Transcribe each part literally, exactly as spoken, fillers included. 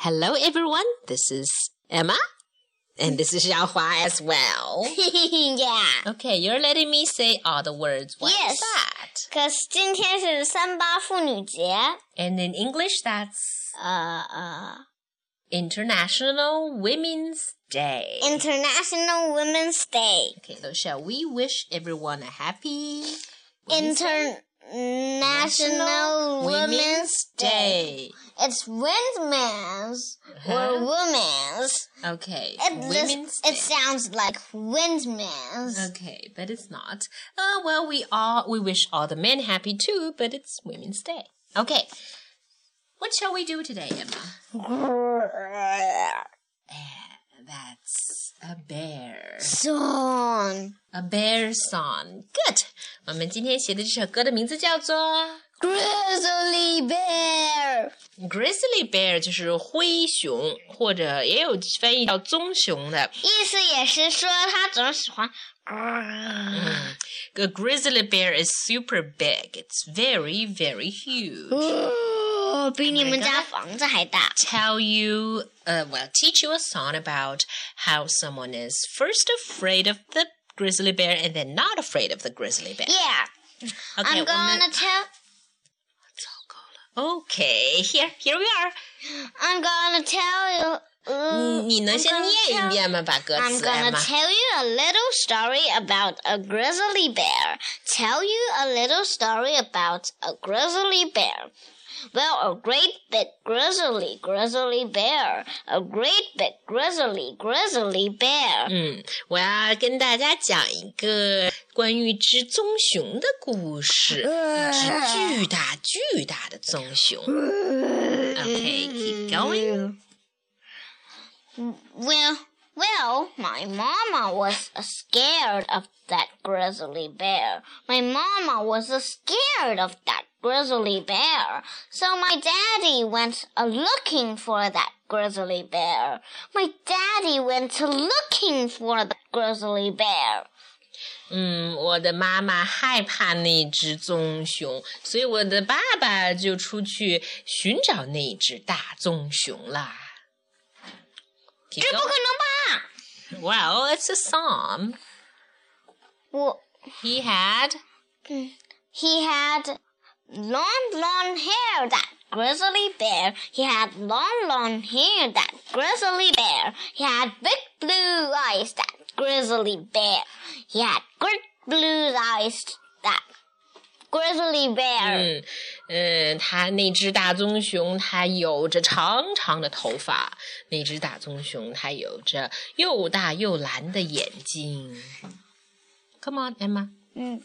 Hello, everyone. This is Emma, and this is Xiaohua as well. Yeah. Okay, you're letting me say all the words. What yes. is that? Because 今天是三八妇女节 And in English, that's 呃呃 International Women's Day. International Women's Day. Okay, so shall we wish everyone a happy International Women's Day. It's windmills or Uh-huh. women's. Okay, It, Women's it Day. sounds like windmills. Okay, but it's not. Uh, well, we all we wish all the men happy too, but it's Women's Day. Okay, what shall we do today, Emma? That's a bear. Song. A bear song. Good. 我们今天写的这首歌的名字叫做 Grizzly Bear. Grizzly Bear， 就是灰熊，或者也有翻译叫棕熊的。 意思也是说他总喜欢。 嗯 A grizzly bear is super big. It's very, very huge. 哦，比你们家房子还大。 Tell you, uh, well, teach you a song about how someone is first afraid of the grizzly bear and then not afraid of the grizzly bear. Yeah. Okay, I'm gonna tell. Okay, here, here we are. I'm gonna tell you. 嗯，你能先念一遍吗？把歌 I'm 词 gonna Emma. tell you a little story about a grizzly bear. Tell you a little story about a grizzly bear. Well, a great big grizzly, grizzly bear. A great big grizzly, grizzly bear. 嗯，我要跟大家讲一个关于一只棕熊的故事，一只巨大巨大的棕熊。Okay, keep going. Well, well, my mama was scared of that grizzly bear. My mama was scared of that grizzly bear. So my daddy went a looking for that grizzly bear. My daddy went looking for the grizzly bear. 嗯，我的妈妈害怕那只棕熊，所以我的爸爸就出去寻找那只大棕熊啦。 这不可能吧 Well, it's a song. 我 He had He had long, long hair, that grizzly bear. He had long, long hair, that grizzly bear. He had big blue eyes, that grizzly bear. He had great blue eyes, that grizzly bear. 嗯嗯，他那只大棕熊，它有着长长的头发。那只大棕熊，它有着又大又蓝的眼睛。Come on, Emma. Mm.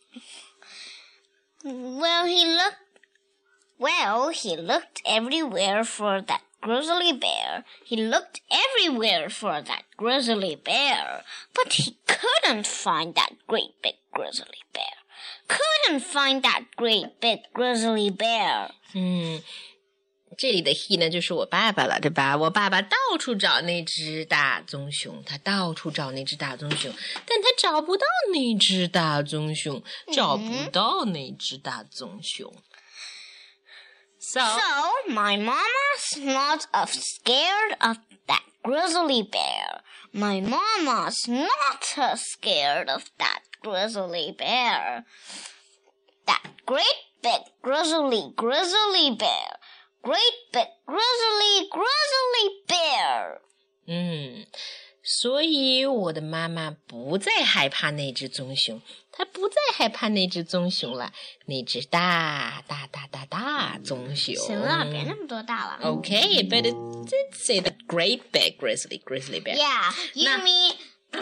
Well, he looked. Well, he looked everywhere for that grizzly bear. He looked everywhere for that grizzly bear, but he couldn't find that great big grizzly bear. Couldn't find that great big grizzly bear. 嗯，这里的 he 呢，就是我爸爸了，对吧？我爸爸到处找那只大棕熊，他到处找那只大棕熊，但他找不到那只大棕熊，找不到那只大棕熊。So, So, my mama's not uh, scared of that grizzly bear. My mama's not uh, scared of that grizzly bear. That great big grizzly, grizzly bear. Great big grizzly, grizzly bear. 嗯，所以我的妈妈不再害怕那只棕熊，她不再害怕那只棕熊了，那只大大大大大棕熊。 行了，别那么多大了。 Okay, but it did say the great big grizzly grizzly bear. Yeah, you Nah. mean...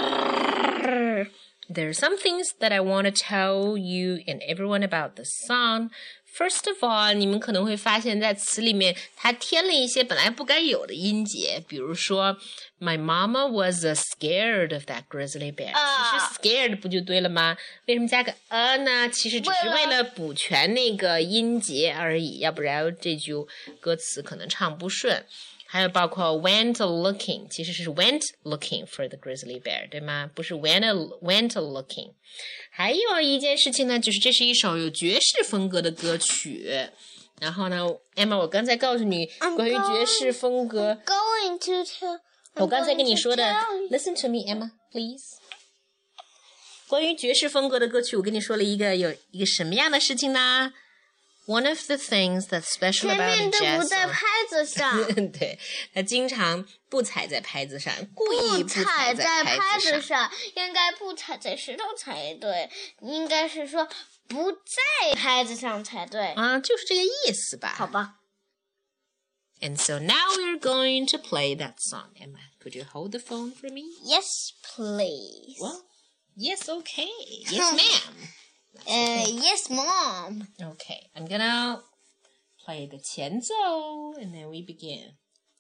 There are some things that I want to tell you and everyone about the song. First of all, 你们可能会发现在词里面它添了一些本来不该有的音节，比如说 My mama was uh, scared of that grizzly bear. 啊其实 scared 不就对了吗？为什么加个 a 呢？其实只是为了补全那个音节而已，要不然这句歌词可能唱不顺。还有包括 went looking， 其实是 went looking for the grizzly bear， 对吗？不是 went went looking。还有一件事情呢，就是这是一首有爵士风格的歌曲。 然后呢 ，Emma， 我刚才告诉你关于爵士风格。 Going to tell, 我刚才跟你说的 ，Listen to me, Emma, please。关于爵士风格的歌曲，我跟你说了一个有一个什么样的事情呢 ？One of the things that's special about jazz， 前面都不在拍子上。 对，他经常不踩在拍子上，故意不踩在拍子上，应该不踩在石头才对，应该是说不在拍子上才对。 啊，就是这个意思吧？ 好吧。 And so now we're going to play that song. Emma, could you hold the phone for me? Yes, please. Well, yes, okay. Yes, ma'am. Uh, yes, Mom. Okay, I'm gonna play the 前奏 and then we begin.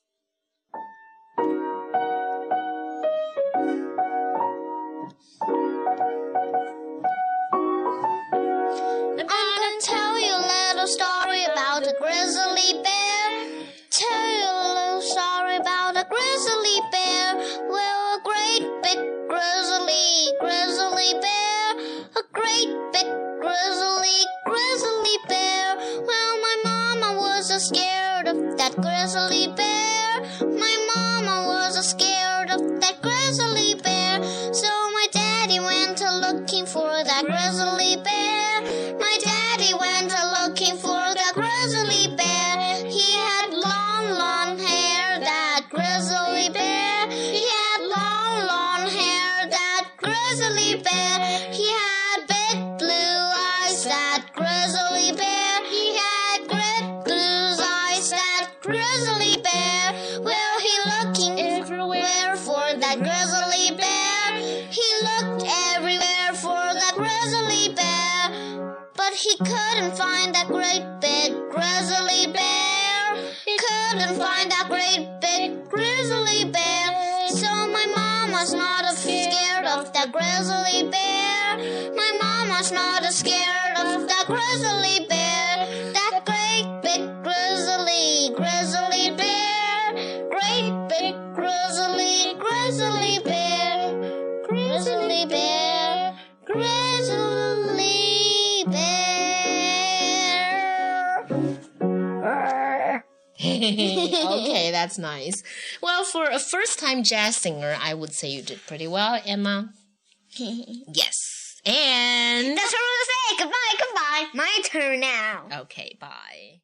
I'm gonna tell you a little story about a grizzly bear. Tell you a little story about a grizzly bear. Well, a great big grizzly, grizzly bear. A great big grizzly, grizzly bear. Well, my mama was a scared of that grizzly bear. My mama was a scared of that grizzly bear. So my daddy went a looking for that grizzly bear. My daddy went a looking for that grizzly bear. He had long, long hair, that grizzly bear. He had long, long hair, that grizzly bear. He had big blue eyes, that grizzly bear. He had great blue eyes, that grizzly bear. Well, he looking everywhere for that grizzly bear. He looked everywhere for that grizzly bear. But he couldn't find that great big grizzly bear. He couldn't find that great big grizzly bear. So my mama's not scared of that grizzly bear. My mama's not scared of that grizzly bear. That great big grizzly, grizzly bear. Great big grizzly, grizzly bear. Grizzly bear, grizzly bear. Okay, that's nice. Well, for a first-time jazz singer, I would say you did pretty well, Emma. Yes. And... That's what I was saying. Goodbye, goodbye. My turn now. Okay, bye.